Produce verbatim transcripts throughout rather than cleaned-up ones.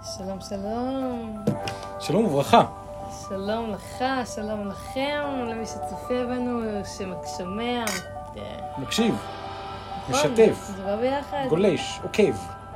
שלום, שלום. שלום וברכה. שלום לך, שלום לכם, למי שצופה בנו, ששומע. מקשיב, משתף, זה בא ביחד. גולש, עוקב,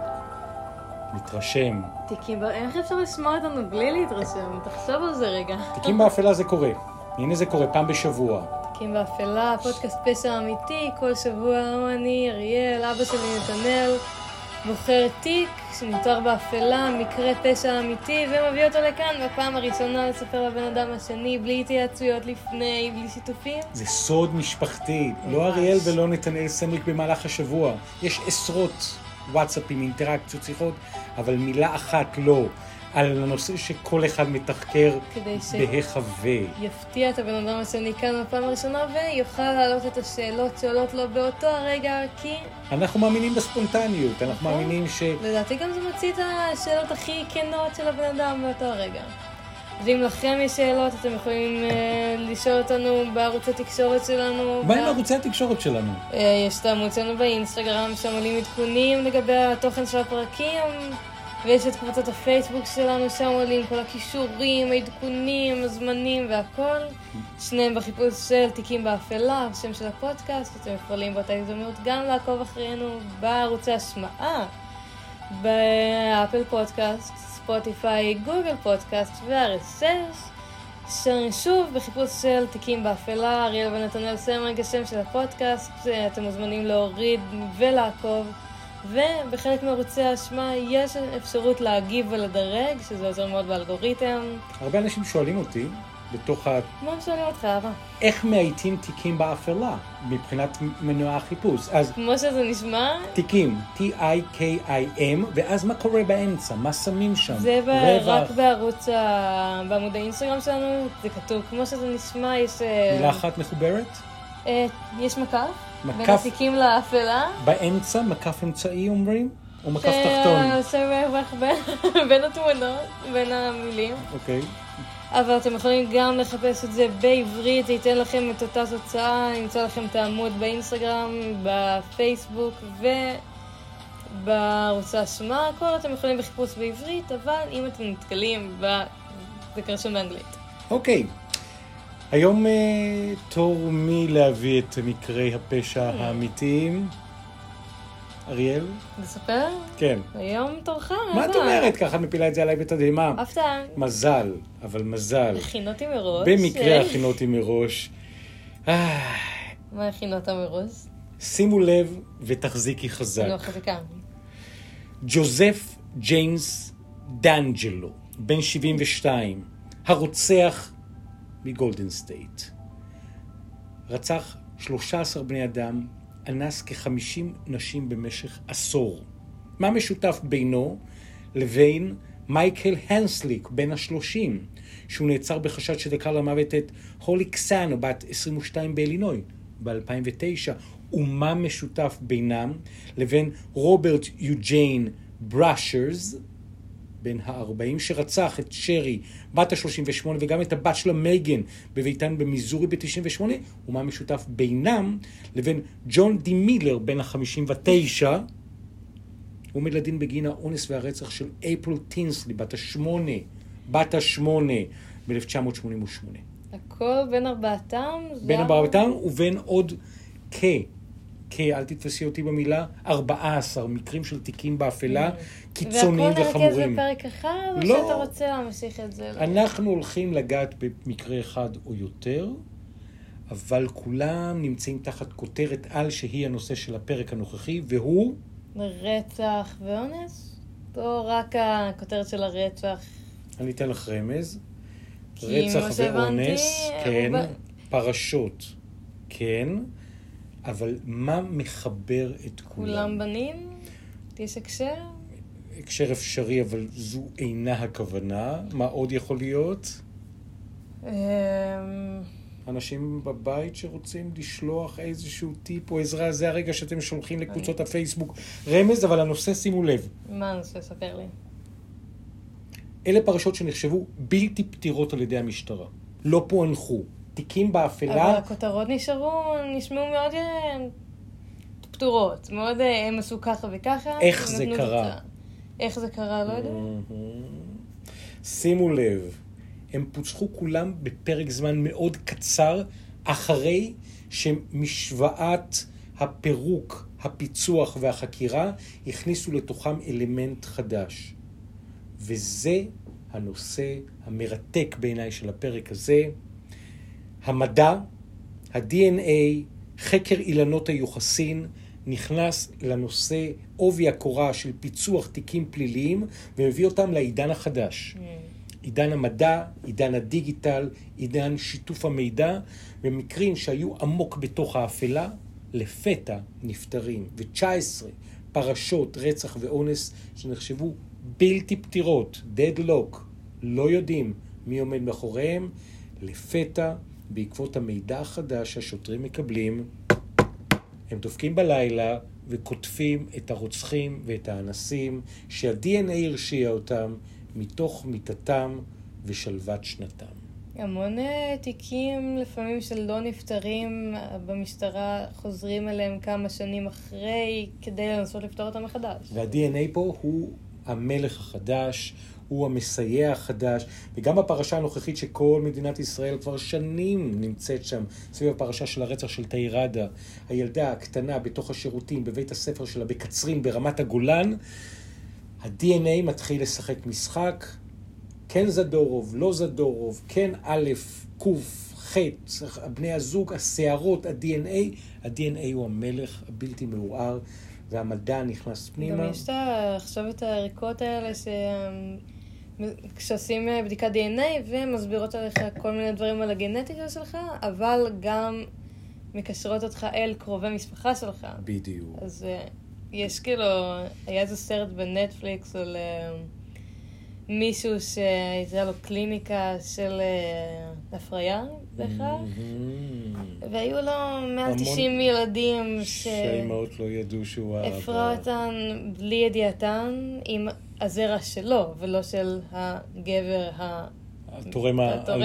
מתרשם. תיקים, איך אפשר לשמוע אותנו בלי להתרשם? תחשוב על זה רגע. תיקים באפלה זה קורה. הנה זה קורה פעם בשבוע. תיקים באפלה, פודקאסט פשע אמיתי, כל שבוע אני, אריאל, אבא שלי נתנאל, בוחר תיק שנותר באפלה, מקרה פשע אמיתי, ומביא אותו לכאן בפעם הראשונה לספר לבן אדם השני, בלי התייעצויות לפני, בלי שיתופים. זה סוד משפחתי, לא אריאל ולא נתנאל סמריק במהלך השבוע. יש עשרות וואטסאפים, אינטראקציות, שיחות, אבל מילה אחת לא. על הנושא שכל אחד מתחקר בהחווה. יפתיע את הבן אדם השני כאן בפעם הראשונה ויוכל להעלות את השאלות שעולות לו באותו הרגע, כי אנחנו מאמינים בספונטניות, אנחנו מאמינים ש... לדעתי גם זה מוציא את השאלות הכי כנות של הבן אדם באותו הרגע. ואם לכם יש שאלות, אתם יכולים uh, לשאול אותנו בערוץ התקשורת שלנו. מה עם ערוצי התקשורת שלנו? Uh, יש את הערוץ שלנו באינסטגרם, שם עולים עדכונים לגבי התוכן של הפרקים. ויש את קבוצת הפייסבוק שלנו, שם עולים כל הכישורים, העדכונים, הזמנים והכל. שניהם בחיפוש של תיקים באפלה, שם של הפודקאסט. אתם יכולים באותה הזדמנות גם לעקוב אחרינו בערוצי השמעה, באפל פודקאסט, ספוטיפיי, גוגל פודקאסט ו-אר אס אס. שוב, בחיפוש של תיקים באפלה, אריאל ונתנאל סמריק, השם של הפודקאסט. אתם מוזמנים להוריד ולעקוב. ובחלק מערוצי האשמה יש אפשרות להגיב ולדרג, שזה עוזר מאוד באלגוריתם. הרבה אנשים שואלים אותי, בתוך ה... מה שואלים אותך, אבא? איך מאייתים תיקים באפלה, מבחינת מנוע החיפוש? אז... כמו שזה נשמע? תיקים, T-I-K-I-M, ואז מה קורה באמצע? מה שמים שם? זה ב- רק בערוץ, ה... בעמוד האינסטגרם שלנו, זה כתוב. כמו שזה נשמע, יש... מילה אחת מחוברת? אה, יש מקף. מקף, בין התיקים לאפלה. באמצע, מקף אמצעי אומרים? או מקף תחתון? זה רווח בין, בין התמונות, בין המילים. אוקיי. אבל אתם יכולים גם לחפש את זה בעברית, זה ייתן לכם את אותה תוצאה, נמצא לכם את העמוד באינסטגרם, בפייסבוק ובערוץ האשמה, הכל אתם יכולים בחיפוש בעברית, אבל אם אתם נתקלים, זה קרשום באנגלית. אוקיי. היום תור מי להביא את מקרי הפשע האמיתיים? אריאל? לספר? כן. היום תורך. מה את אומרת? ככה מפילה את זה עליי בתדהמה. הפתעה. מזל, אבל מזל. הכינותי מראש. במקרה הכינותי מראש. מה הכינות מראש? שימו לב ותחזיקי חזק. אני לא חזיקה. ג'וזף ג'יימס דנג'לו, בן שבעים ושתיים, הרוצח מגולדן סטייט. רצח שלושה עשר בני אדם, אנס כ-חמישים נשים במשך עשור. מה משותף בינו לבין מייקל הנסליק, בן השלושים, שהוא נעצר בחשד שדקר למוות את הולי קסאנו, בת עשרים ושתיים באלינוי, ב-אלפיים ותשע. ומה משותף בינם לבין רוברט יוג'יין בראשרס, בן ה-ארבעים, שרצח את שרי, בת ה-שלושים ושמונה, וגם את הבת שלה מייגן, בביתן במיזורי ב-תשעים ושמונה, ומה משותף בינם לבין ג'ון די מילר, בן ה-חמישים ותשע, הוא עומד לדין בגין האונס והרצח של אפריל טינסלי, בת השמונה, בת השמונה, ב-אלף תשע מאות שמונים ושמונה. הכל בין ארבעתם? בין ארבעתם ובין עוד כ... כ... אל תתפסי אותי במילה, ארבעה עשר מקרים של תיקים באפלה, קיצוניים וחמורים. והכל נרכז בפרק אחד, או לא. שאתה רוצה להמשיך את זה? אנחנו הולכים לגעת במקרה אחד או יותר, אבל כולם נמצאים תחת כותרת על שהיא הנושא של הפרק הנוכחי, והוא... רצח ואונס? או רק הכותרת של הרצח? אני אתן לך רמז. רצח ואונס, כן. ב... פרשות, כן. אבל מה מחבר את כולם? כולם בנים? יש הקשר? הקשר אפשרי, אבל זו אינה הכוונה. מה עוד יכול להיות? אנשים בבית שרוצים לשלוח איזשהו טיפ או עזרה, זה הרגע שאתם שולחים לקבוצות הפייסבוק רמז, אבל הנושא, שימו לב. מה הנושא? ספר לי. אלה פרשות שנחשבו בלתי פתירות על ידי המשטרה. לא פוענחו. תיקים באפלה. אבל הכותרות נשארו, נשמעו מאוד פתורות. מאוד, הם עשו ככה וככה. איך זה קרה? איך זה קרה, לא יודע. שימו לב, הם פוצחו כולם בפרק זמן מאוד קצר, אחרי שמשוואת הפירוק, הפיצוח והחקירה הכניסו לתוכם אלמנט חדש. וזה הנושא המרתק בעיניי של הפרק הזה. המדע, ה-די אן איי, חקר אילנות היוחסין, נכנס לנושא עובי הקורה של פיצוח תיקים פליליים, ומביא אותם לעידן החדש. Mm. עידן המדע, עידן הדיגיטל, עידן שיתוף המידע, במקרים שהיו עמוק בתוך האפלה, לפתע נפטרים. ו-תשע עשרה פרשות רצח ואונס שנחשבו בלתי פתירות, deadlock, לא יודעים מי עומד מאחוריהם, לפתע, בעקבות המידע החדש שהשוטרים מקבלים, הם דופקים בלילה וכותבים את הרוצחים ואת האנסים שה-די אן איי הרשיע אותם מתוך מיטתם ושלוות שנתם. המון תיקים לפעמים של לא נפטרים במשטרה חוזרים אליהם כמה שנים אחרי כדי לנסות לפתור אותם מחדש. וה-די אן איי פה הוא המלך החדש, הוא המסייע החדש, וגם בפרשה הנוכחית שכל מדינת ישראל כבר שנים נמצאת שם, סביב הפרשה של הרצח של תאירדה, הילדה הקטנה בתוך השירותים, בבית הספר שלה, בקצרין, ברמת הגולן, ה-די אן איי מתחיל לשחק משחק, כן זדורוב, לא זדורוב, כן א', קוף, ח', בני הזוג, השערות, ה-די אן איי, ה-די אן איי הוא המלך הבלתי מעורער, והמדע נכנס פנימה. גם יש את, עכשיו את הערכות האלה ש... כשעושים בדיקת די אן איי ומסבירות עליך כל מיני דברים על הגנטיקה שלך, אבל גם מקשרות אותך אל קרובי משפחה שלך. בדיוק. אז יש כאילו, היה איזה סרט בנטפליקס על מישהו שהייתה לו קליניקה של הפריה בהכרח, והיו לו מעל תשעים ילדים שהאימהות לא ידעו שהוא האבא. הפרע אותן בלי ידיעתן עם הזרע שלו, ולא של הגבר התורם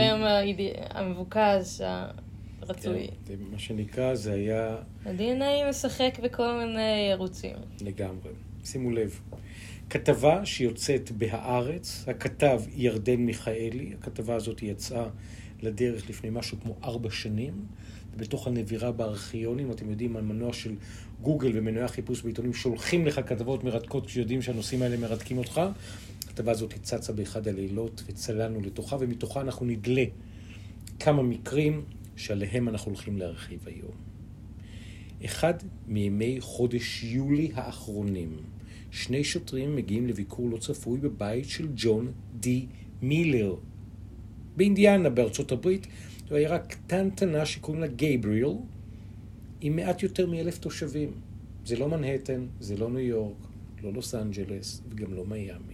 המבוקש הרצוי. מה שנקרא זה היה... ה-די אן איי משחק בכל מיני ערוצים. לגמרי. שימו לב. כתבה שיוצאת בהארץ, הכתב ירדן מיכאלי, הכתבה הזאת יצאה לדרך לפני משהו כמו ארבע שנים, ובתוך הנבירה בארכיונים, אתם יודעים, על מנוע של גוגל ומנועי החיפוש בעיתונים שולחים לך כתבות מרתקות כשיודעים שהנושאים האלה מרתקים אותך. הכתבה הזאת צצה באחד הלילות וצללנו לתוכה, ומתוכה אנחנו נגלה כמה מקרים שעליהם אנחנו הולכים להרחיב היום. אחד מימי חודש יולי האחרונים, שני שוטרים מגיעים לביקור לא צפוי בבית של ג'ון די מילר, באינדיאנה, בארצות הברית. זו עיירה קטנטנה שקוראים לה גייבריאל, עם מעט יותר מאלף תושבים. זה לא מנהטן, זה לא ניו יורק, לא לוס אנג'לס וגם לא מיימי.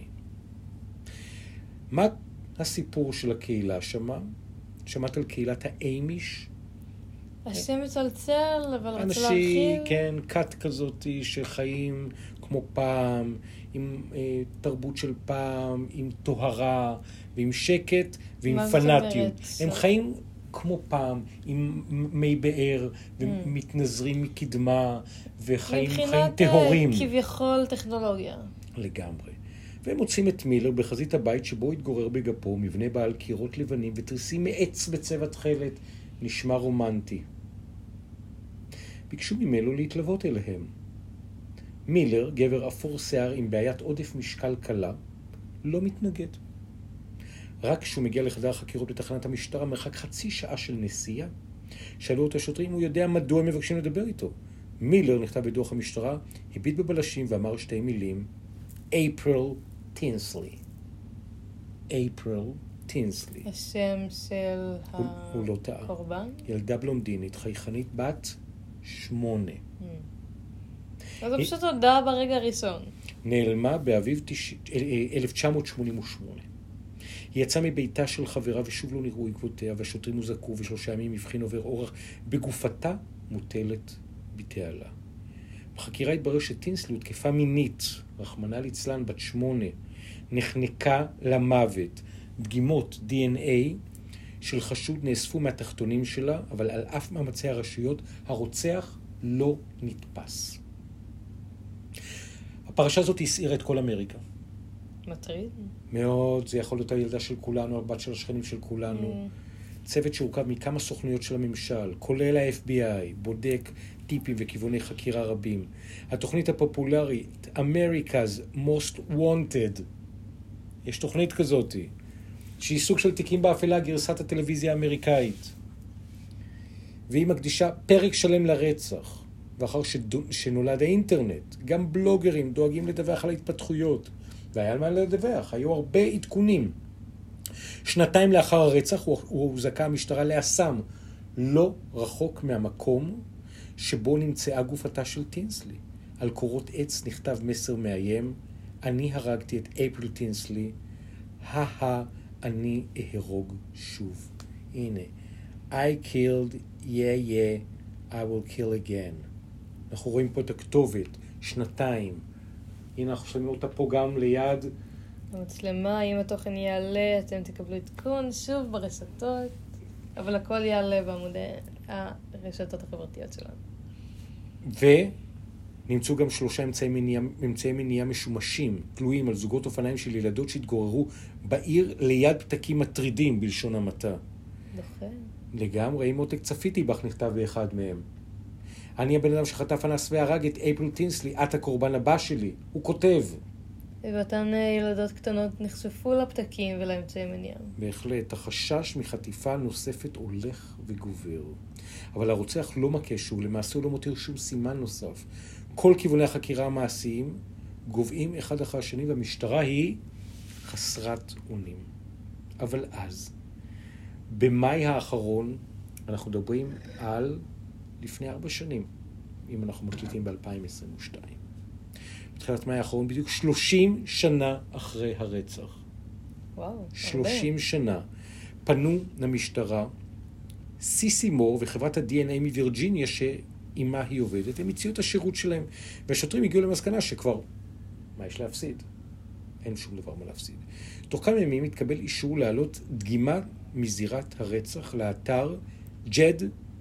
מה הסיפור של הקהילה שמה? שמעת על קהילת האמיש? השם מצלצל, אבל רצה אנשים, להרחיב. כן, קאט כזאת שחיים כמו פעם, עם אה, תרבות של פעם, עם טוהרה, ועם שקט, ועם פנאטיות. הם חיים כמו פעם, עם מי באר, ומתנזרים מקדמה, וחיים חיים טהורים. מבחינת כביכול טכנולוגיה. לגמרי. והם מוצאים את מילר בחזית הבית שבו התגורר בגפו, מבנה בעל קירות לבנים ותריסים מעץ בצבע תכלת, נשמע רומנטי. ביקשו ממנו להתלוות אליהם. מילר, גבר אפור שיער עם בעיית עודף משקל קלה, לא מתנגד. רק כשהוא מגיע לחדר החקירות בתחנת המשטרה, מרחק חצי שעה של נסיעה, שאלו אותו השוטרים, הוא יודע מדוע הם מבקשים לדבר איתו. מילר נכתב בדוח המשטרה, הביט בבלשים ואמר שתי מילים, אפריל טינסלי. אפריל טינסלי. השם של הוא, הוא לא טעה. הקורבן? ילדה בלונדינית, חייכנית בת שמונה. אז זה פשוט הודעה ברגע הראשון. נעלמה באביב אלף תשע מאות שמונים ושמונה. היא יצאה מביתה של חברה ושוב לא נראו עקבותיה, והשוטרים הוזעקו ושלושה ימים הבחין עובר אורח בגופתה מוטלת בתעלה. בחקירה התברר שטינסלי הותקפה מינית, רחמנא ליצלן, בת שמונה, נחנקה למוות. דגימות די אן איי של חשוד נאספו מהתחתונים שלה, אבל על אף מאמצי הרשויות, הרוצח לא נתפס. הפרשה הזאת הסעירה את כל אמריקה. מטריד. מאוד, זה יכול להיות הילדה של כולנו, הבת של השכנים של כולנו. צוות שהורכב מכמה סוכנויות של הממשל, כולל ה-אף בי איי, בודק טיפים וכיווני חקירה רבים. התוכנית הפופולרית, America's Most Wanted, יש תוכנית כזאת, שהיא סוג של תיקים באפלה, גרסת הטלוויזיה האמריקאית. והיא מקדישה פרק שלם לרצח. ואחר שנולד האינטרנט, גם בלוגרים דואגים לדווח על ההתפתחויות. והיה על מה לדווח, היו הרבה עדכונים. שנתיים לאחר הרצח הוא הוזעקה המשטרה לאסם, לא רחוק מהמקום שבו נמצאה גופתה של טינסלי. על קורות עץ נכתב מסר מאיים, אני הרגתי את אפריל טינסלי, הא אני אהרוג שוב. הנה, I killed, yeah yeah, I will kill again. אנחנו רואים פה את הכתובת, שנתיים. הנה אנחנו שמים אותה פה גם ליד. המצלמה, אם התוכן יעלה, אתם תקבלו עדכון שוב ברשתות, אבל הכל יעלה בעמודי הרשתות החברתיות שלנו. ונמצאו גם שלושה אמצעי מניעה, אמצעי מניעה משומשים, תלויים על זוגות אופניים של ילדות שהתגוררו בעיר ליד פתקים מטרידים בלשון המעטה. נכון. לגמרי, עם מותק צפיתי בך נכתב באחד מהם. אני הבן אדם שחטף אנס והרג את אפריל טינסלי, את הקורבן הבא שלי. הוא כותב. ואותן ילדות קטנות נחשפו לפתקים ולאמצעי מניעה. בהחלט, החשש מחטיפה נוספת הולך וגובר. אבל הרוצח לא מכה שוב, למעשה הוא לא מותיר שום סימן נוסף. כל כיווני החקירה המעשיים גובעים אחד אחר השני, והמשטרה היא חסרת אונים. אבל אז, במאי האחרון, אנחנו מדברים על לפני ארבע שנים, אם אנחנו מקליטים ב-אלפיים עשרים ושתיים. בתחילת מאי האחרון, בדיוק שלושים שנה אחרי הרצח. וואו, שלושים הרבה. שנה. פנו למשטרה, סיסי מור וחברת ה-די אן איי מווירג'יניה שעימה היא עובדת, הם הציעו את השירות שלהם, והשוטרים הגיעו למסקנה שכבר, מה יש להפסיד? אין שום דבר מה להפסיד. תוך כמה ימים התקבל אישור להעלות דגימה מזירת הרצח לאתר ג'ד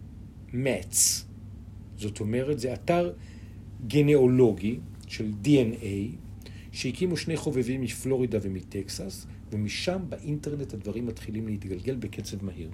מצ. זאת אומרת, זה אתר גנאולוגי של די אן איי, שהקימו שני חובבים מפלורידה ומטקסס, ומשם באינטרנט הדברים מתחילים להתגלגל בקצב מהיר.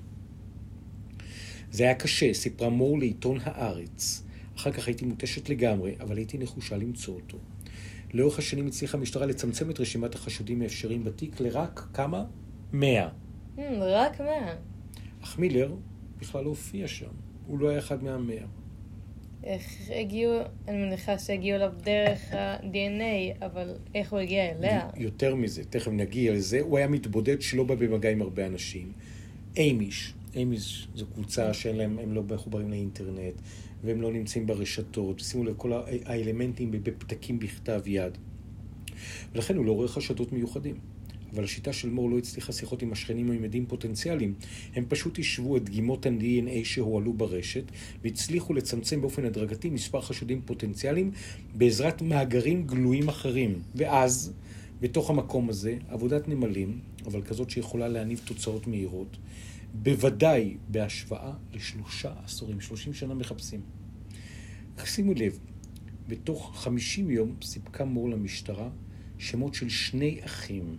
זה היה קשה, סיפרה מור לעיתון הארץ. אחר כך הייתי מותשת לגמרי, אבל הייתי נחושה למצוא אותו. לאורך השנים הצליחה המשטרה לצמצם את רשימת החשודים האפשריים בתיק לרק כמה? מאה. רק מאה. אך מילר בכלל לא הופיע שם. הוא לא היה אחד מהמאה. איך הגיעו, אני מניחה שהגיעו אליו דרך ה-די אן איי, אבל איך הוא הגיע אליה? יותר מזה, תכף נגיע לזה. הוא היה מתבודד שלא בא במגע עם הרבה אנשים. אמיש. אמיש זו קבוצה שאין להם, הם לא מחוברים לאינטרנט, והם לא נמצאים ברשתות. שימו לב, כל האלמנטים בפתקים בכתב יד. ולכן הוא לא רואה חשדות מיוחדים. אבל השיטה של מור לא הצליחה שיחות עם השכנים או עם עדים פוטנציאליים. הם פשוט ישבו את דגימות ה-די אן איי שהועלו ברשת, והצליחו לצמצם באופן הדרגתי מספר חשודים פוטנציאליים בעזרת מאגרים גלויים אחרים. ואז, בתוך המקום הזה, עבודת נמלים, אבל כזאת שיכולה להניב תוצאות מהירות, בוודאי בהשוואה לשלושה עשורים, שלושים שנה מחפשים. שימו לב, בתוך חמישים יום סיפקה מור למשטרה שמות של שני אחים.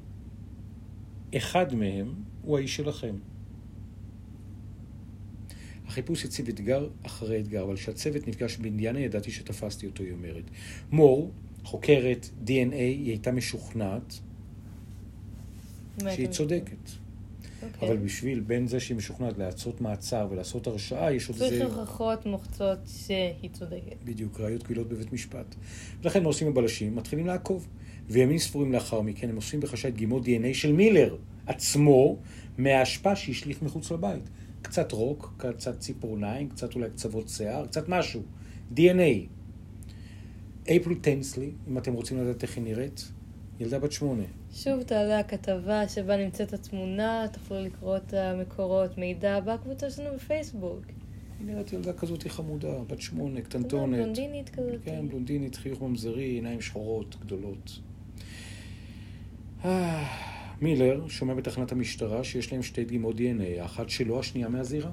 אחד מהם הוא האיש שלכם. החיפוש הציב אתגר אחרי אתגר, אבל כשהצוות נפגש באינדיאנה ידעתי שתפסתי אותו, היא אומרת. מור, חוקרת די אן איי, היא הייתה משוכנעת שהיא צודקת. Okay. אבל בשביל בין זה שהיא משוכנעת לעשות מעצר ולעשות הרשעה, יש עוד איזה... צריך הוכחות מוחצות שהיא צודקת. בדיוק, ראיות קבילות בבית משפט. ולכן מה עושים הבלשים? מתחילים לעקוב. וימים ספורים לאחר מכן הם עושים בחשאי דגימות די אן איי של מילר עצמו מההשפעה שהשליך מחוץ לבית. קצת רוק, קצת ציפורניים, קצת אולי קצוות שיער, קצת משהו. די אן איי. אפריל טינסלי, אם אתם רוצים לדעת איך היא נראית, ילדה בת שמונה. שוב תעלה הכתבה שבה נמצאת התמונה, תוכלו לקרוא את המקורות מידע בקבוצה שלנו בפייסבוק. היא נראית ילדה כזאת חמודה, בת שמונה, קטנטונת. בלונדינית כזאת. כן, בלונדינית, חיוך ממזרי, עיניים שחורות, גדולות. מילר שומע בתחנת המשטרה שיש להם שתי דגימות די אן איי, האחת שלו, השנייה מהזירה.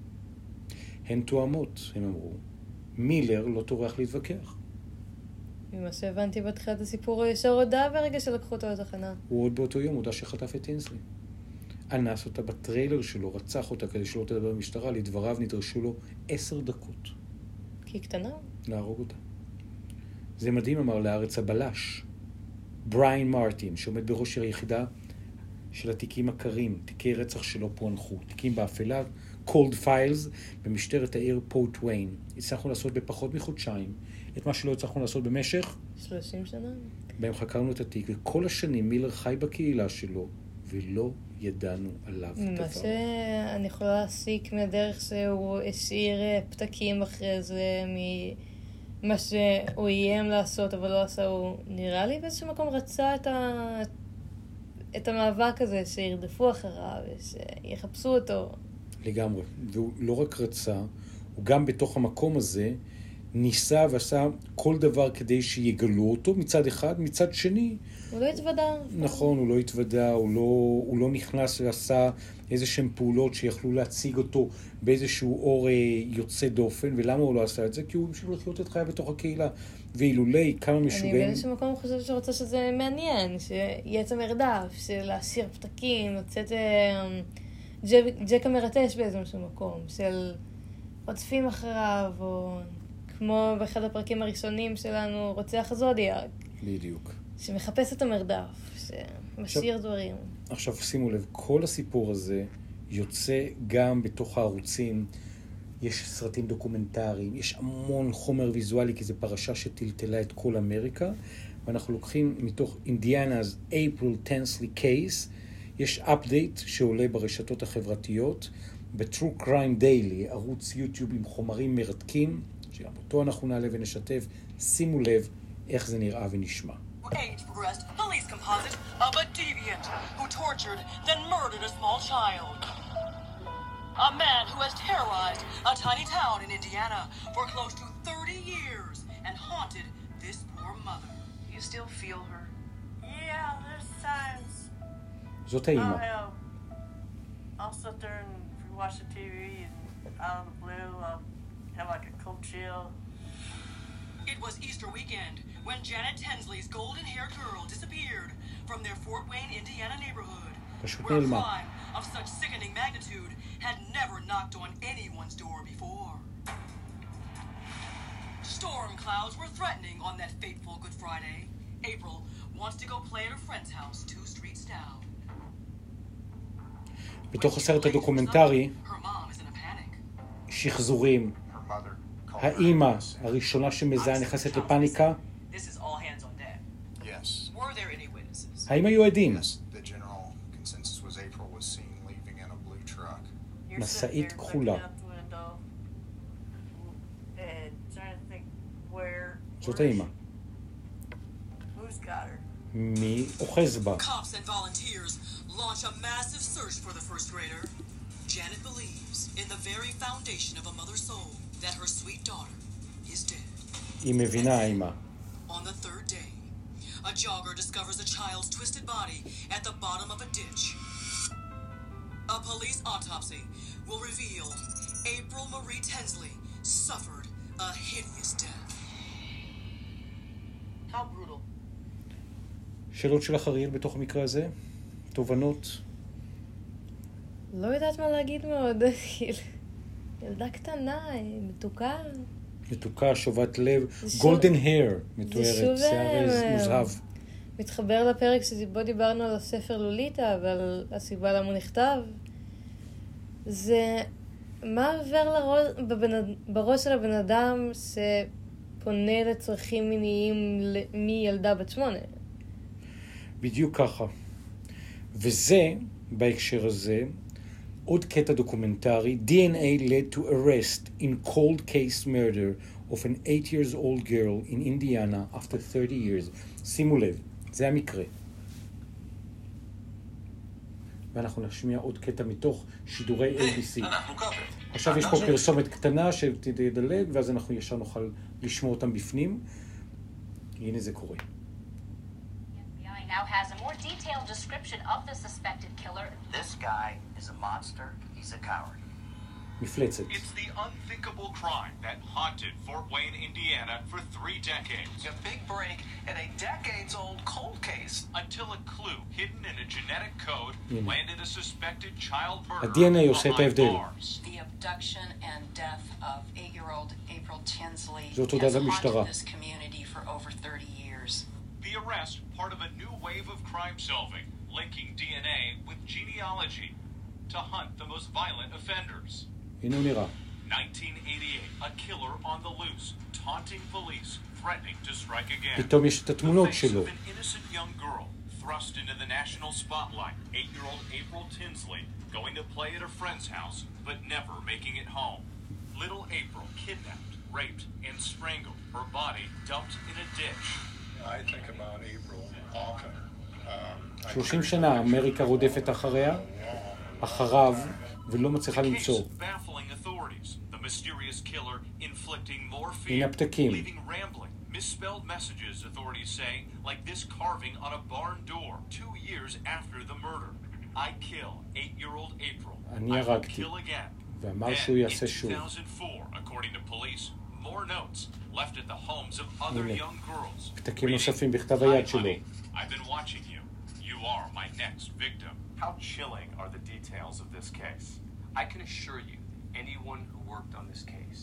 הן תואמות, הם אמרו. מילר לא טורח להתווכח. ממה שהבנתי בתחילת הסיפור, הוא ישר הודע ברגע שלקחו אותו לתחנה. הוא עוד באותו יום הודע שחטף את טינסלי. אנס אותה בטריילר שלו, רצח אותה כדי שלא תדבר במשטרה, לדבריו נדרשו לו עשר דקות. כי היא קטנה. להרוג אותה. זה מדהים, אמר לארץ הבלש. בריין מרטין, שעומד בראש היחידה של התיקים הקרים, תיקי רצח שלא פוענחו, תיקים באפלה, cold files, במשטרת העיר פורט וויין. הצלחנו לעשות בפחות מחודשיים את מה שלא הצלחנו לעשות במשך שלושים שנה. בהם חקרנו את התיק, וכל השנים מילר חי בקהילה שלו, ולא ידענו עליו דבר. מה שאני יכולה להסיק מהדרך שהוא השאיר פתקים אחרי זה, ממה שהוא איים לעשות אבל לא עשה, הוא נראה לי באיזשהו מקום רצה את, ה... את המאבק הזה, שירדפו אחריו, שיחפשו אותו. לגמרי, והוא לא רק רצה, הוא גם בתוך המקום הזה ניסה ועשה כל דבר כדי שיגלו אותו מצד אחד, מצד שני. הוא לא התוודע. נכון, הוא לא התוודע, הוא לא, הוא לא נכנס ועשה איזשהם פעולות שיכלו להציג אותו באיזשהו אור יוצא דופן, ולמה הוא לא עשה את זה? כי הוא המשיך לחיות את חיה בתוך הקהילה, ואילולי כמה משוגעים. אני באיזשהו מקום חושבת שרוצה שזה מעניין, שיהיה את המרדף, של להשאיר פתקים, לצאת ג'ק המרטש באיזשהו מקום, של רודפים אחריו, או כמו באחד הפרקים הראשונים שלנו, רוצח זודיאק. בדיוק. שמחפש את המרדף, שמשאיר דברים. עכשיו שימו לב, כל הסיפור הזה יוצא גם בתוך הערוצים. יש סרטים דוקומנטריים, יש המון חומר ויזואלי, כי זו פרשה שטלטלה את כל אמריקה, ואנחנו לוקחים מתוך אינדיאנה's April Tinsley Case, יש אפדייט שעולה ברשתות החברתיות, ב-True Crime Daily, ערוץ יוטיוב עם חומרים מרתקים, שגם אותו אנחנו נעלה ונשתף. שימו לב איך זה נראה ונשמע. Age progressed police composite of a deviant who tortured, then murdered a small child. A man who has terrorized a tiny town in Indiana for close to thirty years and haunted this poor mother. You still feel her? Yeah, there's times. זאת האימא. I'll sit there and watch the T V and out of the blue I'll have like a cold chill. It was Easter weekend when Janet Tinsley's golden-haired girl disappeared from their Fort Wayne, Indiana neighborhood, where a crime of such sickening magnitude had never knocked on anyone's door before. Storm clouds were threatening on that fateful Good Friday. April wants to go play at her friend's house two streets down. בתוך הסרט הדוקומנטרי, שחזורים, האימא הראשונה שמזהה נכנסת לפאניקה. האם היו עדים? משאית כחולה. זאת האימא. מי אוחז בה? Launch a massive search for the first grader. Janet believes in the very foundation of a mother's soul that her sweet daughter is dead. היא מבינה, האימא. On the third day, a jogger discovers a child's twisted body at the bottom of a ditch. A police autopsy will reveal April Marie Tinsley suffered a hideous death. How brutal. שאלות שלך, אריאל, בתוך המקרה הזה? תובנות? לא יודעת מה להגיד מאוד. ילדה קטנה, מתוקה. מתוקה, שובת לב, גולדן היר, מתוארת, שיער מוזהב. מתחבר לפרק שבו דיברנו על הספר לוליטה, ועל הסיבה למה הוא נכתב. זה מה עובר לראש, בבנ... בראש של הבן אדם שפונה לצרכים מיניים מילדה בת שמונה. בדיוק ככה. וזה, בהקשר הזה, עוד קטע דוקומנטרי, D N A led to arrest in cold case murder of an eight years old girl in Indiana after thirty years. שימו לב, זה המקרה. ואנחנו נשמיע עוד קטע מתוך שידורי A B C. עכשיו יש פה פרסומת קטנה שתדלג, ואז אנחנו ישר נוכל לשמוע אותם בפנים. הנה זה קורה. Now has a more detailed description of the suspected killer. This guy is a monster. He's a coward. מפלצת. It's the unthinkable crime that haunted Fort Wayne, Indiana for three decades. A big break in a decades-old cold case. Until a clue hidden in a genetic code landed a suspected child ה-די אן איי murderer עושה את behind ההבדל. bars. The abduction and death of eight-year-old April Tinsley זאת has הודעת המשטרה. haunted this community for over thirty years. The arrest, part of a new wave of crime solving, linking D N A with genealogy to hunt the most violent offenders. הנה הוא נראה. nineteen eighty-eight, a killer on the loose, taunting police, threatening to strike again. פתאום יש את The התמונות face שלו. of an innocent young girl thrust into the national spotlight. Eight-year-old April Tinsley going to play at a friend's house, but never making it home. Little April kidnapped, raped, and strangled. Her body dumped in a ditch. I think about April often. Um, I שלושים שנה אמריקה רודפת אחריה, אחריו, ולא מצליחה The case למצוא. baffling authorities. The mysterious killer inflicting more הנה fear, הפתקים. leaving rambling, misspelled messages, authorities say, like this carving on a barn door two years after the murder. I kill eight-year-old April. אני I will הרגתי. kill again. ואמר Then, שהוא יעשה in שוב. two thousand four, according to police, more notes left at the homes of other הנה, young girls. פתקים reading, נוספים בכתב "Hi, היד שלו. honey, I've been watching you. You are my next victim." How chilling are the details of this case? I can assure you, anyone who worked on this case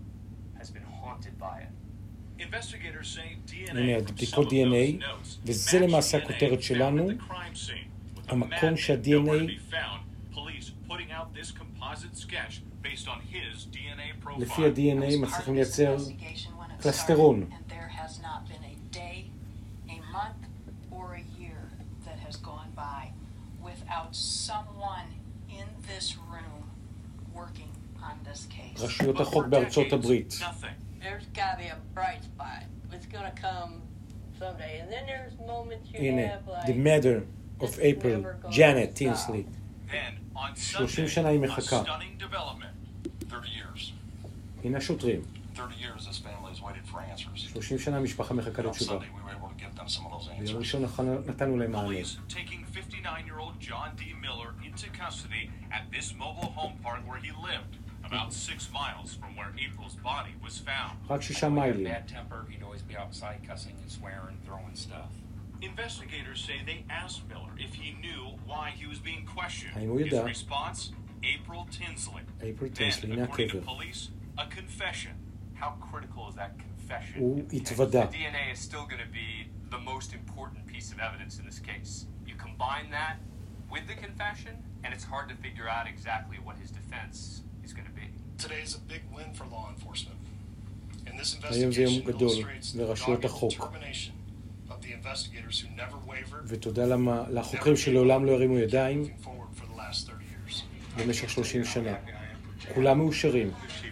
has been haunted by it. Investigators say D N הנה, A from some בדיקות of די אן איי, those notes וזה match למעשה D N A הכותרת found שלנו, at the crime scene. With the המקום madman שה-די אן איי nowhere to be found, police putting out this composite sketch based on his D N A profile. לפי ה-די אן איי I was part מצליחים of this לייצר investigation when it קלסטרון. started, and there has not been a day, a month, or a year that has gone by without someone in this room working on this case. רשויות But החוק for בארצות decades, הברית. nothing. There's got to be a bright spot. It's going to come someday. And then there's moments you הנה, have like... the matter of it's April, never gonna Janet stop. Tinsley. Then, on שלושים Sunday, שנה היא a מחכה. stunning development. thirty years. הנה השוטרים. thirty years this family has waited for answers. שלושים שנה המשפחה מחכה On לתשובה. Sunday we were able to give them some of those ביום answers. ראשון נתנו- נתנו להם מענה. Police taking fifty-nine-year-old John D. Miller into custody at this mobile home park where he lived, about six miles from where April's body was found. רק שישה מיילים. Bad temper, he'd always be outside cussing and swearing, throwing stuff. Investigators say they asked Miller if he knew why he was being questioned. האם הוא His ידע? response, April Tinsley. April Then, Tinsley, הנה according to הקבר. police, a confession. How critical is that confession? הוא in the case? התוודה. The D N A is still going to be the most important piece of evidence in this case. You combine that with the confession, and it's hard to figure out exactly what his defense is going to be. Today is a big win for law enforcement. And this היום זה יום investigation גדול illustrates the לרשויות dogged החוק. determination of the investigators who never wavered, ותודה למה- לחוקרים שלעולם לא הרימו ידיים moving forward for the last thirty years. במשך שלושים שנה. כולם מאושרים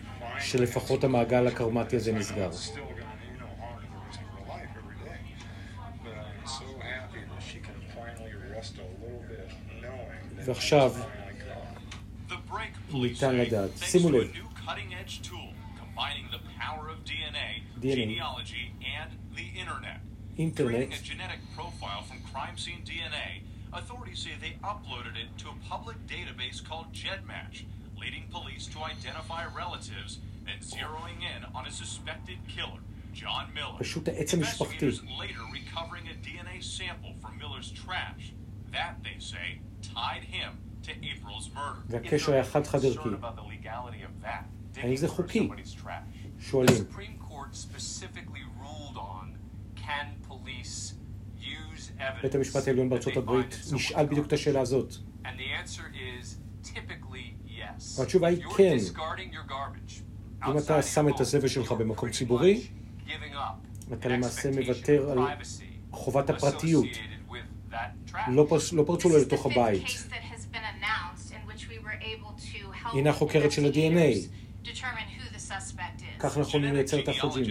שלפחות המעגל הקרמטי הזה נסגר. Still got, you know, hard and losing her life every day. But I'm so happy that she can finally rest a little bit knowing that ועכשיו, she's finally caught. The break police ניתן say, לדעת. thanks שימו to a לב. new cutting-edge tool combining the power of D N A, די אן איי. genealogy, and the internet. אינטרנט, Creating a genetic profile from crime scene D N A, authorities say they uploaded it to a public database called GEDmatch, leading police to identify relatives and zeroing in on a suspected killer, John Miller. פשוט העץ המשפחתי. Investigators later recovering a D N A sample from Miller's trash. That, they say, tied him to April's murder. והקשר היה חד חד ערכי. Concerned about the legality of that, האם digging זה through חוקי? somebody's trash. The שואלים. Supreme Court specifically ruled on can police use evidence בית המשפט העליון that בארצות they הברית find in someone's נשאל בדיוק את car. השאלה הזאת. And the answer is typically yes. והתשובה היא If you're כן. discarding your garbage אם אתה outside שם your את הזבל home, שלך you're במקום pretty ציבורי, much giving up אתה an למעשה expectation מוותר of על privacy חובת הפרטיות. associated with that trash. לא פרצ- לא פרצו לו This is the לתוך fifth הבית. case that has been announced in which we were able to help הנה החוקרת של ה-די אן איי. investigators determine who the suspect is. כך אנחנו יכולים לייצר את האחוזים.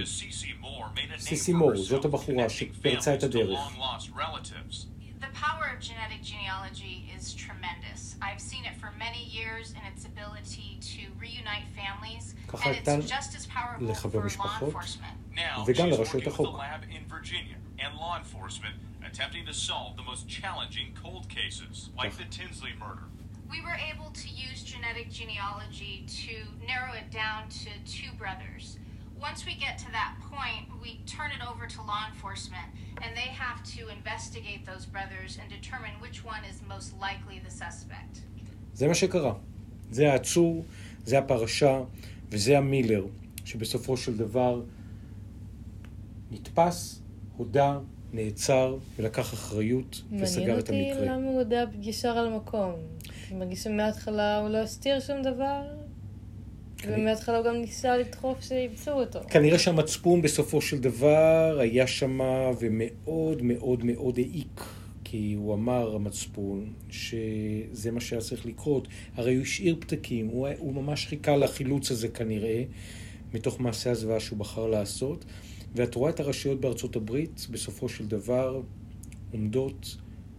סיסי מור, זאת הבחורה שפרצה את הדרך. The power of genetic genealogy is tremendous. I've seen it for many years in its ability to reunite families, ככה and ניתן it's just as powerful לחבר for law משפחות. enforcement. Now, וגם she's לרשויות working with החוק. a lab in Virginia and law enforcement attempting to solve the most challenging cold cases, like the Tinsley murder. We were able to use genetic genealogy to narrow it down to two brothers. Once we get to that point, we turn it over to law enforcement, and they have to investigate those brothers and determine which one is most likely the suspect. זה מה שקרה. זה העצור, זה הפרשה, וזה המילר, שבסופו של דבר נתפס, הודע, נעצר, ולקח אחריות, וסגר את המקרה. מעניין אותי למה הוא הודע ישר על המקום. אני מרגיש שמההתחלה הוא לא הסתיר שום דבר, ומההתחלה הוא גם ניסה לדחוף שיבצעו אותו. כנראה שהמצפון בסופו של דבר היה שמה ומאוד מאוד מאוד העיק, כי הוא אמר, המצפון, שזה מה שהיה צריך לקרות. הרי הוא השאיר פתקים, הוא, הוא ממש חיכה לחילוץ הזה כנראה, מתוך מעשה הזוועה שהוא בחר לעשות. ואת רואה את הרשויות בארצות הברית, בסופו של דבר, עומדות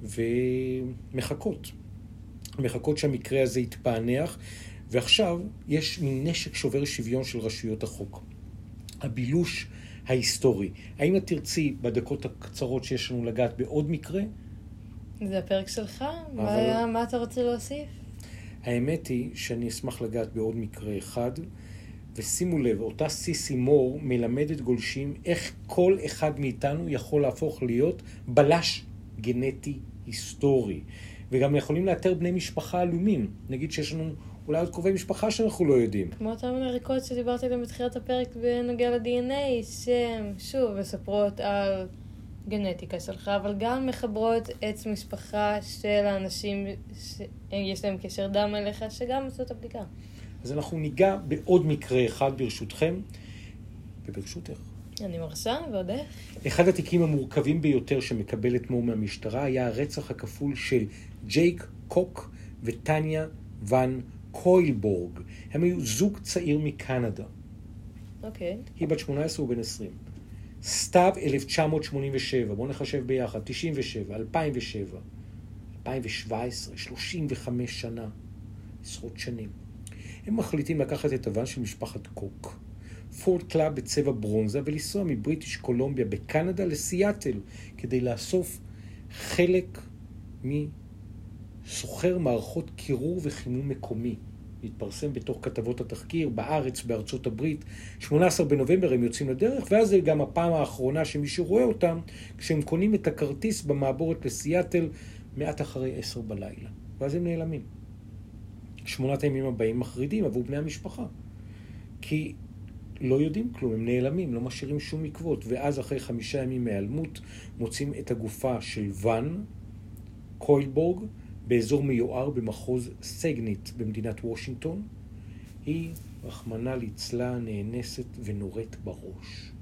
ומחכות. מחכות שהמקרה הזה יתפענח, ועכשיו יש מין נשק שובר שוויון של רשויות החוק. הבילוש ההיסטורי. האם את תרצי בדקות הקצרות שיש לנו לגעת בעוד מקרה? זה הפרק שלך? אבל... מה, מה אתה רוצה להוסיף? האמת היא שאני אשמח לגעת בעוד מקרה אחד, ושימו לב, אותה סיסי מור מלמדת גולשים איך כל אחד מאיתנו יכול להפוך להיות בלש גנטי היסטורי. וגם יכולים לאתר בני משפחה עלומים. נגיד שיש לנו אולי עוד קרובי משפחה שאנחנו לא יודעים. כמו אותם מנריקות שדיברתי עליהם בתחילת הפרק בנוגע ל-די אן איי, שהן שוב מספרות על גנטיקה שלך, אבל גם מחברות עץ משפחה של האנשים שיש להם קשר דם אליך, שגם עשו את הבדיקה. אז אנחנו ניגע בעוד מקרה אחד ברשותכם, וברשותך. אני מרשה, ועוד איך. אחד התיקים המורכבים ביותר שמקבלת מור מהמשטרה היה הרצח הכפול של ג'ייק קוק וטניה ון קוילבורג. הם היו זוג צעיר מקנדה. אוקיי. היא בת שמונה עשרה ובן עשרים. סתיו אלף תשע מאות שמונים ושבע, בואו נחשב ביחד, תשעים ושבע, אלפיים ושבע, אלפיים שבע עשרה, שלושים וחמש שנה, עשרות שנים. הם מחליטים לקחת את הוון של משפחת קוק, פורד קלאב בצבע ברונזה, ולנסוע מבריטיש קולומביה בקנדה לסיאטל, כדי לאסוף חלק מסוחר מערכות קירור וחימום מקומי. להתפרסם בתוך כתבות התחקיר בארץ, בארצות הברית. שמונה עשר בנובמבר הם יוצאים לדרך, ואז זה גם הפעם האחרונה שמישהו רואה אותם, כשהם קונים את הכרטיס במעבורת לסיאטל מעט אחרי עשר בלילה. ואז הם נעלמים. שמונת הימים הבאים מחרידים עבור בני המשפחה. כי לא יודעים כלום, הם נעלמים, לא משאירים שום עקבות. ואז אחרי חמישה ימים מהיעלמות מוצאים את הגופה של ון קוילבורג, באזור מיוער במחוז סגנית במדינת וושינגטון. היא, רחמנא ליצלן, נאנסת ונורית בראש.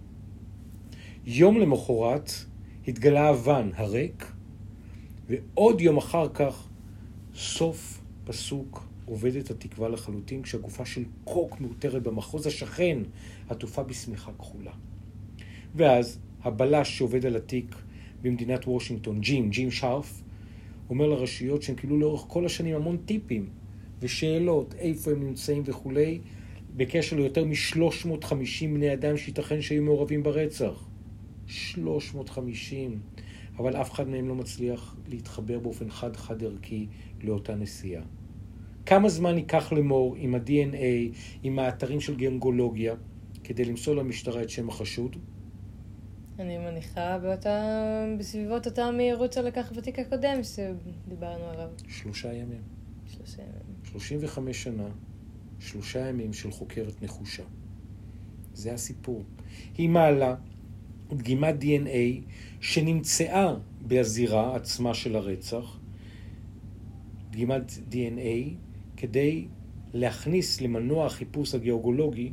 יום למחרת התגלה הוון הריק, ועוד יום אחר כך סוף פסוק עובדת התקווה לחלוטין, כשהגופה של קוק מאותרת במחוז השכן, עטופה בשמיכה כחולה. ואז הבלש שעובד על התיק במדינת וושינגטון, ג'ים, ג'ים שרף, אומר לרשויות שהם קיבלו לאורך כל השנים המון טיפים ושאלות, איפה הם נמצאים וכולי, בקשר ליותר מ-שלוש מאות וחמישים בני אדם שייתכן שהיו מעורבים ברצח. שלוש מאות וחמישים. אבל אף אחד מהם לא מצליח להתחבר באופן חד-חד ערכי לאותה נסיעה. כמה זמן ייקח למור עם ה-די אן איי, עם האתרים של גנגולוגיה, כדי למסור למשטרה את שם החשוד? אני מניחה באותה, בסביבות אותה מהירות שלקח בתיק הקודם שדיברנו עליו. שלושה ימים. שלושה ימים. שלושים וחמש שנה, שלושה ימים של חוקרת נחושה. זה הסיפור. היא מעלה דגימת די אן איי שנמצאה בזירה עצמה של הרצח, דגימת די אן איי, כדי להכניס למנוע החיפוש הגיאוגולוגי,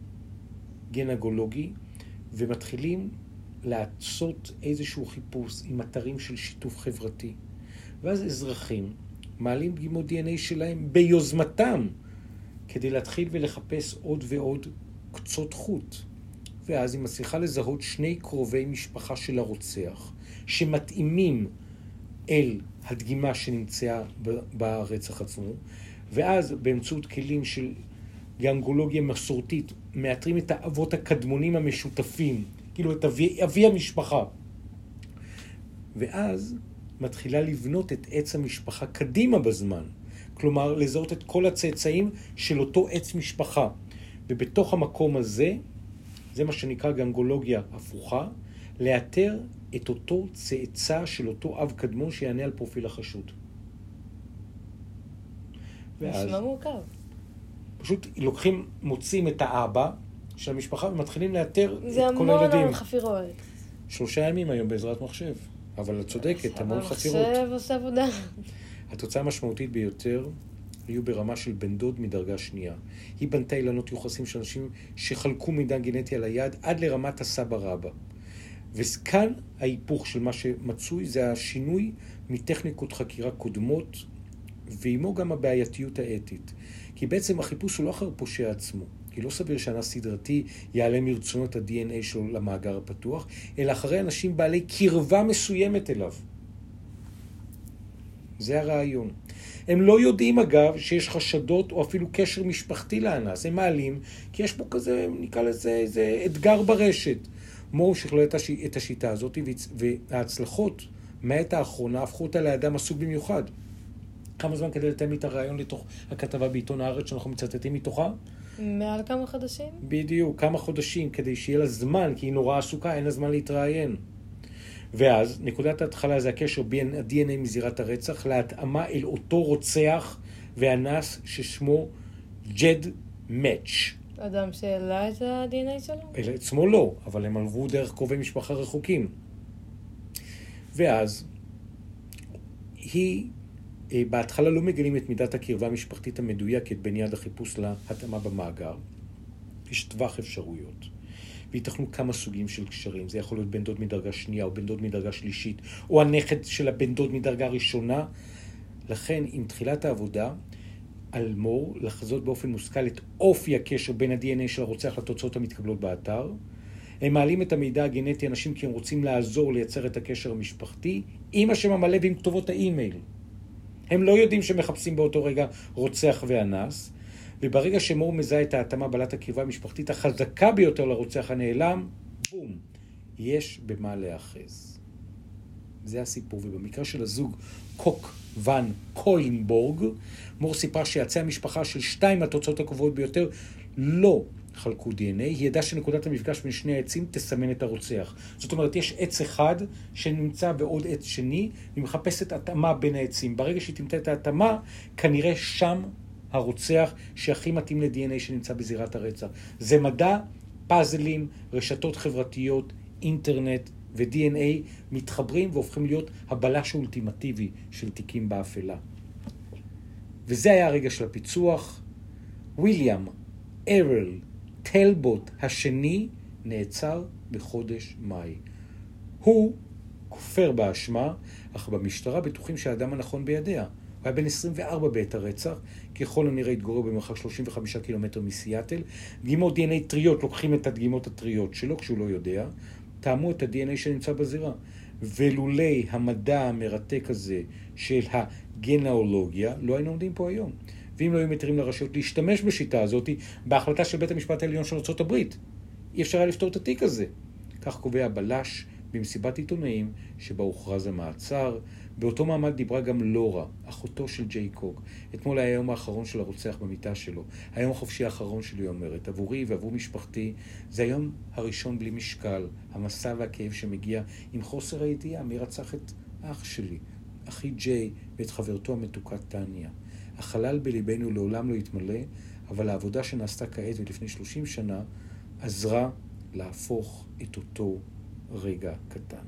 גנגולוגי, ומתחילים לעשות איזשהו חיפוש עם אתרים של שיתוף חברתי. ואז אזרחים מעלים דגימות די אן איי שלהם ביוזמתם, כדי להתחיל ולחפש עוד ועוד קצות חוט. ואז היא מצליחה לזהות שני קרובי משפחה של הרוצח, שמתאימים אל הדגימה שנמצאה ברצח עצמו, ואז באמצעות כלים של גנגולוגיה מסורתית, מאתרים את האבות הקדמונים המשותפים, כאילו את אבי, אבי המשפחה. ואז מתחילה לבנות את עץ המשפחה קדימה בזמן. כלומר לזהות את כל הצאצאים של אותו עץ משפחה. ובתוך המקום הזה, זה מה שנקרא גנגולוגיה הפוכה, לאתר את אותו צאצא של אותו אב קדמון שיענה על פרופיל החשוד. נשמע מורכב. פשוט לוקחים, מוצאים את האבא של המשפחה ומתחילים לאתר את כל הילדים. זה המון חפירות. שלושה ימים היום בעזרת מחשב. אבל את צודקת, המון חפירות. מחשב עושה עבודה. התוצאה המשמעותית ביותר היו ברמה של בן דוד מדרגה שנייה. היא בנתה אילנות יוחסים של אנשים שחלקו מידע גנטי על היד עד לרמת הסבא רבא. וכאן ההיפוך של מה שמצוי זה השינוי מטכניקות חקירה קודמות, ועימו גם הבעייתיות האתית. כי בעצם החיפוש הוא לא אחר פושע עצמו. כי לא סביר שאנס סדרתי יעלה מרצונות ה-די אן איי שלו למאגר הפתוח, אלא אחרי אנשים בעלי קרבה מסוימת אליו. זה הרעיון. הם לא יודעים אגב שיש חשדות או אפילו קשר משפחתי לאנס. הם מעלים כי יש פה כזה, נקרא לזה, איזה אתגר ברשת. מור שכלל את השיטה הזאת, וההצלחות מהעת האחרונה הפכו אותה לאדם עסוק במיוחד. כמה זמן כדי לתאם את הרעיון לתוך הכתבה בעיתון הארץ שאנחנו מצטטים מתוכה? מעל כמה חודשים? בדיוק, כמה חודשים, כדי שיהיה לה זמן, כי היא נורא עסוקה, אין לה זמן להתראיין. ואז, נקודת ההתחלה זה הקשר בין ה-די אן איי מזירת הרצח להתאמה אל אותו רוצח ואנס ששמו ג'ד מאץ'. אדם שהעלה את ה-די אן איי שלו? אלא עצמו לא, אבל הם עלבו דרך קרובי משפחה רחוקים. ואז, היא, בהתחלה לא מגלים את מידת הקרבה המשפחתית המדויקת בין יד החיפוש להתאמה במאגר. יש טווח אפשרויות. ויתכנו כמה סוגים של קשרים. זה יכול להיות בן דוד מדרגה שנייה, או בן דוד מדרגה שלישית, או הנכד של הבן דוד מדרגה ראשונה. לכן, עם תחילת העבודה, על מור לחזות באופן מושכל את אופי הקשר בין ה-די אן איי של הרוצח לתוצאות המתקבלות באתר. הם מעלים את המידע הגנטי אנשים כי הם רוצים לעזור לייצר את הקשר המשפחתי, עם השם המלא ועם כתובות האימייל. הם לא יודעים שמחפשים באותו רגע רוצח ואנס, וברגע שמור מזהה את ההתאמה בעלת הקרבה המשפחתית החזקה ביותר לרוצח הנעלם, בום, יש במה להאחז. זה הסיפור, ובמקרה של הזוג קוק ון קוינבורג, מור סיפר שיצא המשפחה של שתיים מהתוצאות הקובעות ביותר לא חלקו די אן איי, היא ידעה שנקודת המפגש בין שני העצים תסמן את הרוצח. זאת אומרת, יש עץ אחד שנמצא בעוד עץ שני, והיא מחפשת התאמה בין העצים. ברגע שהיא תמצא את ההתאמה, כנראה שם הרוצח שהכי מתאים ל-די אן איי שנמצא בזירת הרצח. זה מדע, פאזלים, רשתות חברתיות, אינטרנט ו-די אן איי מתחברים והופכים להיות הבלש האולטימטיבי של תיקים באפלה. וזה היה הרגע של הפיצוח. וויליאם ארל טלבוט השני נעצר בחודש מאי. הוא כופר באשמה, אך במשטרה בטוחים שהאדם הנכון בידיה. הוא היה בן עשרים וארבע בעת הרצח, ככל הנראה התגורר במרחק שלושים וחמישה קילומטר מסיאטל. דגימות די אן איי טריות לוקחים את הדגימות הטריות שלו כשהוא לא יודע, טעמו את ה-די אן איי שנמצא בזירה. ולולי המדע המרתק הזה של הגנאולוגיה, לא היינו עומדים פה היום. ואם לא היו מתירים לרשויות להשתמש בשיטה הזאת, בהחלטה של בית המשפט העליון של ארצות הברית, אי אפשר היה לפתור את התיק הזה. כך קובע הבלש במסיבת עיתונאים שבה הוכרז המעצר. באותו מעמד דיברה גם לורה, אחותו של ג'יי קוק. אתמול היה היום האחרון של הרוצח במיטה שלו. היום החופשי האחרון שלי, היא אומרת. עבורי ועבור משפחתי, זה היום הראשון בלי משקל. המסע והכאב שמגיע עם חוסר הידיעה מי רצח את אח שלי, אחי ג'יי ואת חברתו המתוקה טניה. החלל בליבנו לעולם לא יתמלא, אבל העבודה שנעשתה כעת ולפני שלושים שנה עזרה להפוך את אותו רגע קטן.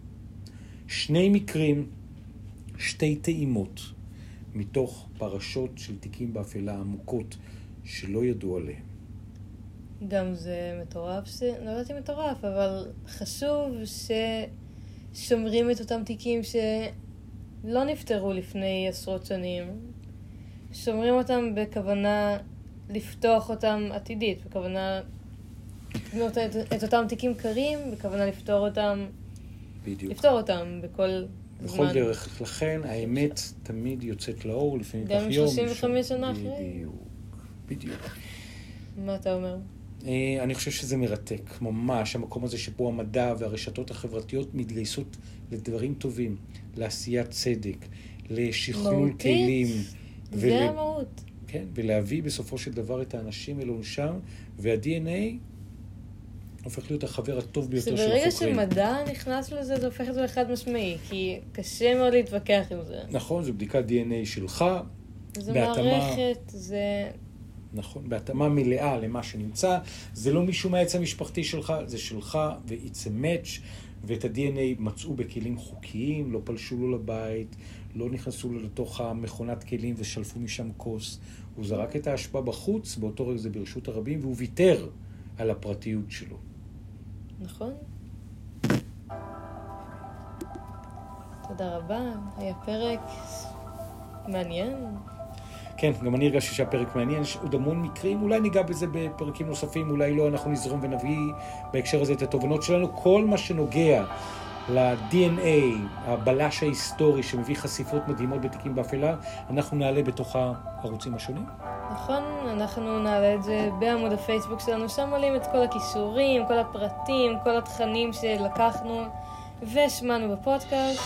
שני מקרים, שתי טעימות, מתוך פרשות של תיקים באפלה עמוקות שלא ידעו עליהם. גם זה מטורף, ש... לא יודעת אם מטורף, אבל חשוב ששומרים את אותם תיקים שלא נפטרו לפני עשרות שנים. שומרים אותם בכוונה לפתוח אותם עתידית, בכוונה את, את אותם תיקים קרים, בכוונה לפתור אותם, בדיוק. לפתור אותם בכל בכל זמן. דרך. לכן האמת תמיד יוצאת לאור לפני כך יום. גם שלושים וחמש שנה אחרי. בדיוק, בדיוק. מה אתה אומר? אני חושב שזה מרתק, ממש, המקום הזה שבו המדע והרשתות החברתיות מתגייסות לדברים טובים, לעשיית צדק, לשכלול כלים, זה ול... המהות. כן, ולהביא בסופו של דבר את האנשים אל עונשם, וה-די אן איי הופך להיות החבר הטוב ביותר של החוקרים. שברגע שמדע נכנס לזה, זה הופך את זה לחד משמעי, כי קשה מאוד להתווכח עם זה. נכון, זו בדיקת די אן איי שלך. זו בהתאמה... מערכת, זה... נכון, בהתאמה מלאה למה שנמצא. זה לא מישהו מהעץ המשפחתי שלך, זה שלך, ו-it's a match, ואת ה-די אן איי מצאו בכלים חוקיים, לא פלשו לו לבית, לא נכנסו לו לתוך המכונת כלים ושלפו משם כוס. הוא זרק את האשפה בחוץ, באותו רגע זה ברשות הרבים, והוא ויתר על הפרטיות שלו. נכון. תודה רבה, היה פרק מעניין. כן, גם אני הרגשתי שהפרק מעניין, יש עוד המון מקרים, אולי ניגע בזה בפרקים נוספים, אולי לא, אנחנו נזרום ונביא בהקשר הזה את התובנות שלנו. כל מה שנוגע ל-די אן איי, הבלש ההיסטורי שמביא חשיפות מדהימות בתיקים באפלה, אנחנו נעלה בתוך הערוצים השונים. נכון, אנחנו נעלה את זה בעמוד הפייסבוק שלנו, שם עולים את כל הכישורים, כל הפרטים, כל התכנים שלקחנו ושמענו בפודקאסט.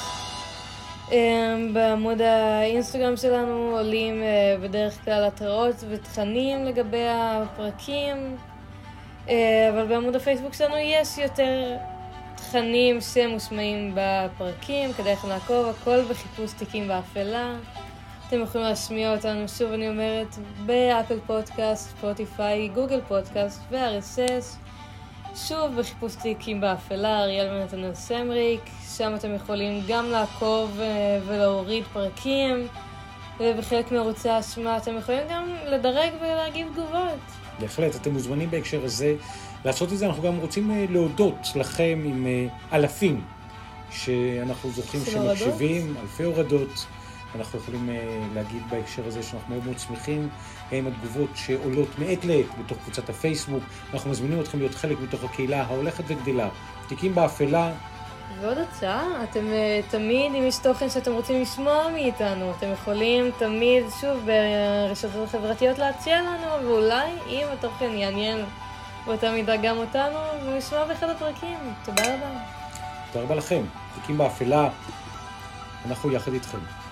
בעמוד האינסטגרם שלנו עולים בדרך כלל התראות ותכנים לגבי הפרקים, אבל בעמוד הפייסבוק שלנו יש יותר תכנים שמושמעים בפרקים, כדי לכם לעקוב, הכל בחיפוש תיקים באפלה. אתם יכולים להשמיע אותנו, שוב אני אומרת, באפל פודקאסט, ספוטיפיי, גוגל פודקאסט ו-אר אס אס. שוב בחיפוש תיקים באפלה, אריאל ונתנאל סמריק. שם אתם יכולים גם לעקוב ולהוריד פרקים, ובחלק מערוצי האשמה אתם יכולים גם לדרג ולהגיב תגובות. בהחלט, אתם מוזמנים בהקשר הזה לעשות את זה. אנחנו גם רוצים להודות לכם עם אלפים שאנחנו זוכים שמקשיבים, אלפי הורדות. אנחנו יכולים להגיד בהקשר הזה שאנחנו מאוד מאוד שמחים עם התגובות שעולות מעת לעת בתוך קבוצת הפייסבוק. אנחנו מזמינים אתכם להיות חלק בתוך הקהילה ההולכת וגדלה. תיקים באפלה. ועוד הצעה, אתם תמיד, אם יש תוכן שאתם רוצים לשמוע מאיתנו, אתם יכולים תמיד, שוב, ברשתות החברתיות להציע לנו, ואולי אם התוכן יעניין באותה מידה גם אותנו, ונשמע באחד הפרקים. תודה רבה. תודה רבה לכם. תיקים באפלה, אנחנו יחד איתכם.